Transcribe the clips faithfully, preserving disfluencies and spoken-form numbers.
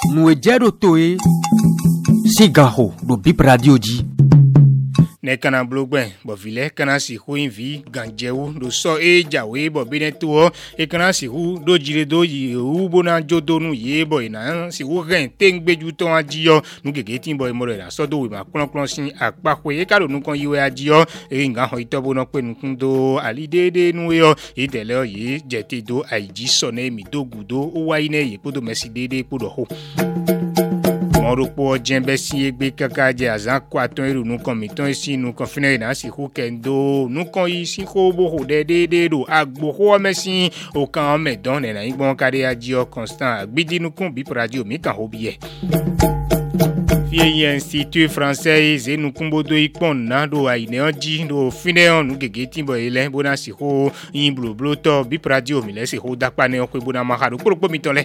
nous ejero toe sigaho do bip radio di ne kana blogben bo vile kana si hu invi ganjewu do so e jawe bo bineto e kana si hu do jire do yi u bona jodonu ye bo ina si hu ren tengbeju ton ajiyo nu gege tin bo mo re so do we ma klon klon sin apapo e ka do nu kan yiwe ajiyo e nga ho itobo no pe nu kun do ali dede nu yo e tele yi jeti do aiji so ne mi do gudo o wa ine ye podo mesi dede podo ho Moropo jembe si egbe kaka je azan kwaton eru nu kan miton si nu kan fina na si hu kendo nu kan yi si ko bo ho de de de do agbo ho mesin o kan me don na igbon kare aji o constant agbidi nu kun bi radio mi kan ho biye Fie Institut Français e nu kumbo do ipon na do aine oji do fine nu gege timbo ile bona si ho yin blo blo to bi radio mi le si ho dapa ne o ko bona ma ha do poropo mi tole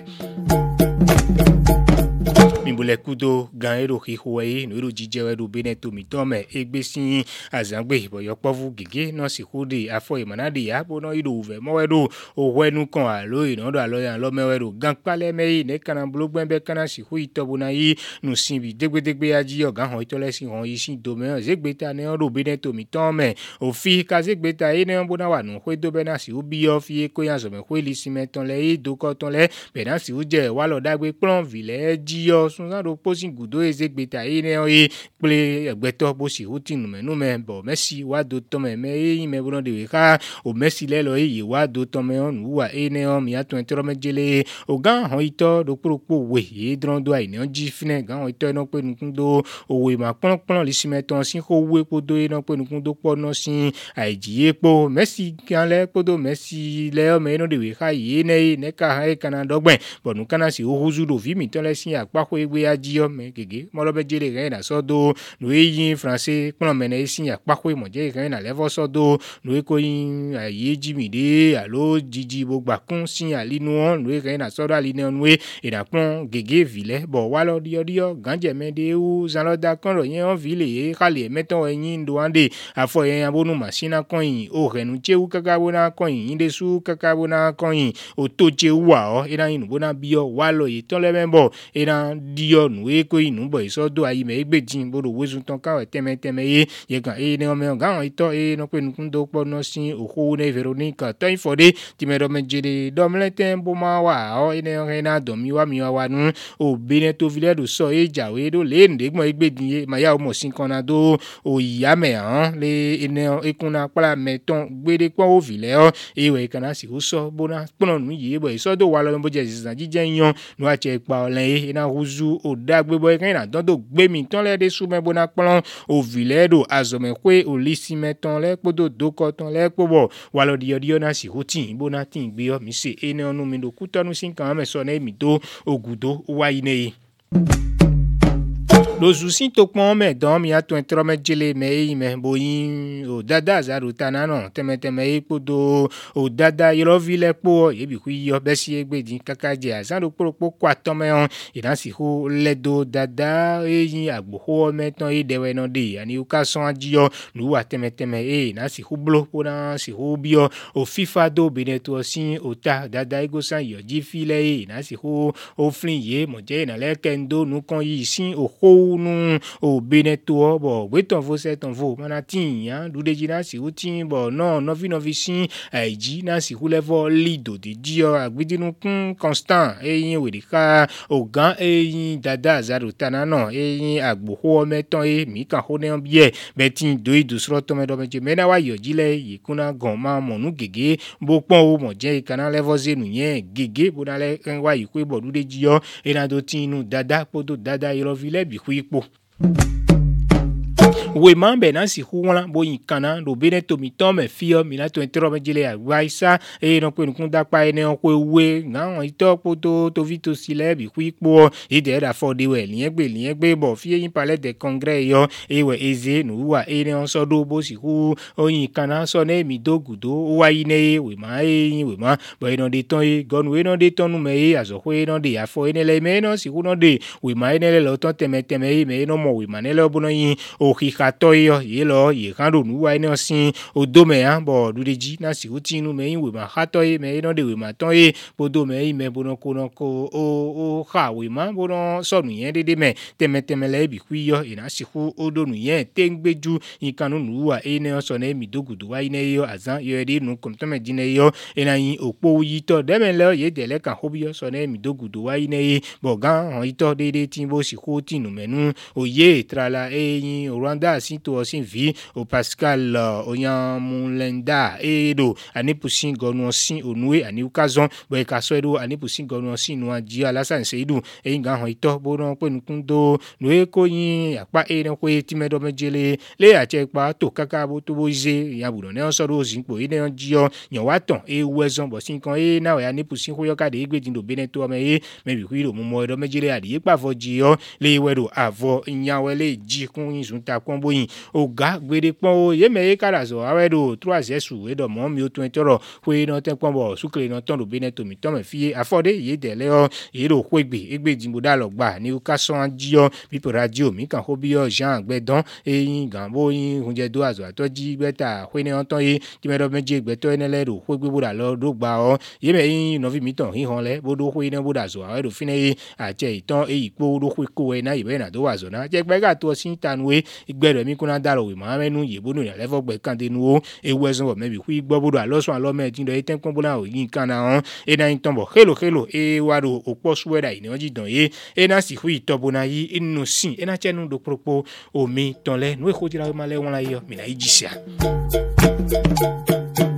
Mimbule kudo gan ero hihuwe no ero jijewe do beneto mitome egbesin azangbe iboyo povu gege no si hude afo imanade ya bono ido uve mowedo ohwenu kan alo ino do alo yan lo mewedo gan pale meyi ne kana blogbenbe kana si hu itobo na yi nu sinbi degbedegbe aji ogan ho itole si hon yi sin do me zegbeta ne do beneto mitome ofi ka zegbeta e ne bona wa nu hwe do bena si ubi ofi ko yan so me hwe li simeton le e do ko ton le bena si uje wa lo dagbe plan vile ji o sunza do posin gudo ezegbeta ine oye ple egbeto bo si hutinu me no me bo Messi wa do to me me yin me bono de we ka o Messi le lo yi wa do to me on wa ene o mi ato entero me jele o gan hon ito do propo we e dron do ai ne ji fine gan hon ito no pe nukun do o we ma pon pon li si meton sin ko we po do e no pe nukun do po no sin ai ji epo Messi kan le po do Messi le o me no de we ka yi ne ne ka ha e kana dogben bo nu kana si o huzu do vi mi to le sin apa ko egbe ajiyo me gege mo lo be jere gan na so do no yin français pon me na sin apa ko mo je gan na level so do no ko yin aye ji mi de alo jiji bo gba kun sin ali nu on no gan na so do ali ne on we e na pon gege vile bo wa lo dio dio ganje me de u zan lo da kan ro yen on vile e kale meton yin do ande afo yen abonu machine kan yin o renu che u kaka bona kan yin de su kaka bona kan yin o to che wa o e na yin bona bio wa lo yi ton le membo e na dio nu e ko inu bo iso do ayi me egbejin bodo wesun ton ka teme teme ye ye kan e ne o me gan ito e no pe nkun do po no sin oho ne Veronica to infode ti me do me jere do mle tempo ma wa o e ne o na do mi wa mi wa nu o bene to vile do so e jawe do le nde gbon egbejin ye ma ya o mo sin kan na do o ya me han le ene e kun na pala meton gbede pon o vile o e we kan na si o so bona pon nu ye bo iso do wa lo bo je sisan jije yan nu a che pa olen e na huzu o dagbe boy kan na don do gbe mi ton le de su me bona plan o vile do azome kwe o lisi meton le podo do ko ton le pobo wa lo dio dio na si hutin bona tin gbe o mi se ene onu mi do kutonu sin kan me so na mi do ogudo wa ine Lozusin to pon me don mi ato entro me jele me yi me boyin o dada zaru tanano teme teme e podo o dada yoro vile po e bi ku yo be si egbedin kakaje azan do poropo kwa to me on idan si ho ledo dada e yin agbo ho me ton e dewe no de ani u ka son ajiyo nu wa teme teme e na si ho blo po na si ho bio o FIFA do beneto sin o ta dada ego san yo ji file e na si ho o flin ye mo je na le kendo nu kon yi sin o ho nu o beneto bo weton vo seton vo mana tin yan du de jina si utin bo no novi novi sin aiji na si hu level lido de dio agbidinu kun constant e yin we de ka o gan e yin dada zaru tanano e yin agbo ho meton e mi kan ho ne bie betin do idu sro to me do me je me na wa yo jile yikuna gon ma monu gege bo pon o mo je kana level zenu yen gege bo na le kan wa yiku bo du de dio e na do tin nu dada podo dada yoro vile bi ipo we mambe na si huwa bo yinkana do beneto mitome fio minato entero mejele agwaisa e no pe nkun dapa ene on pe we na on ito poto to vito sile bi kwipo e de da for de we liyen gbe liyen gbe bo fie yin palais de congrès yo e we eze nu wa ene on so do bo si hu o yinkana so na mi dogudo wa ine we ma e we ma bo eno de ton e gon we no de ton nu me e azo we no de afo ene le me no si hu no de we ma ene le lo ton teme teme e me no mo we ma ne le obo no yin o hika kato yo ye lo ye kan do nu wa ina sin odo me an bo du de ji na si o ti nu me yin we ma kato ye me ina de we ma ton ye bodo me yin me bono ko no ko o o ka we ma bono so nu yen de me teme teme le bi kwi yo ina si ku odo nu yen te ngbeju yin kan nu wa ina so na mi dogudu wa ina yo azan yo de nu kom to me jine yo ina yin opo yi to de me le ye de le kan hobi yo so na mi dogudu wa ina ye bo gan han ito de de tin bo si ku ti nu menu oye trala e yin Rwanda si to sin vi o Pascal oyan mulenda e do ani pusin gonu sin onue ani ukazon bo e ka so do ani pusin gonu sin no aji alasan se du e nga han ito bo no pe nukun do no e ko yin apa e no ko ti medo mejele le a che pa to kaka bo to bo je ya bu no ne so do sin po e ne ji yo yan wa ton e wezon bo sin kan e na we ani pusin ko yo ka de egbe din do bene to me e me bi ku do mo mo do mejele adi e pa fo ji yo le we do avo yan we le ji kun yin sun ta kon boyin oga gbede pon o ye me e kara so awe do trois esu e do mo mi o twen toro we no te pon bo sukle no ton do bene to mi to me fie afode ye de le o ye do ko egbe egbe jimbo da lo gba ni o ka so an ji yo bi radio mi kan ho bi yo Jean Gbedon e yin gan bo yin hunje do azo to ji beta we ne on ton ye ti me do meje gbe to ene le do ko egbe bo da lo do gba o ye me yin no vi mi ton hin hon le bo do we ne bo da zo awe do fine ye a che iton e ipo do ko ko e na ibe na do wa zo na je gbe ga to sin tanwe igbe mi kuna daro we ma menu ye bonu le fo gbe kan de nu o e wezon bo me bi ku igbo bodo alosun alo me tin do e ten kon bona o yin kan na on e na yin ton bo hello hello e wa do opo suweda ni o ji don ye e na si hu ito bona yi inu sin e na chenu do propo o mi ton le nu e ko ti ra ma le won la yo mi na yi jisia.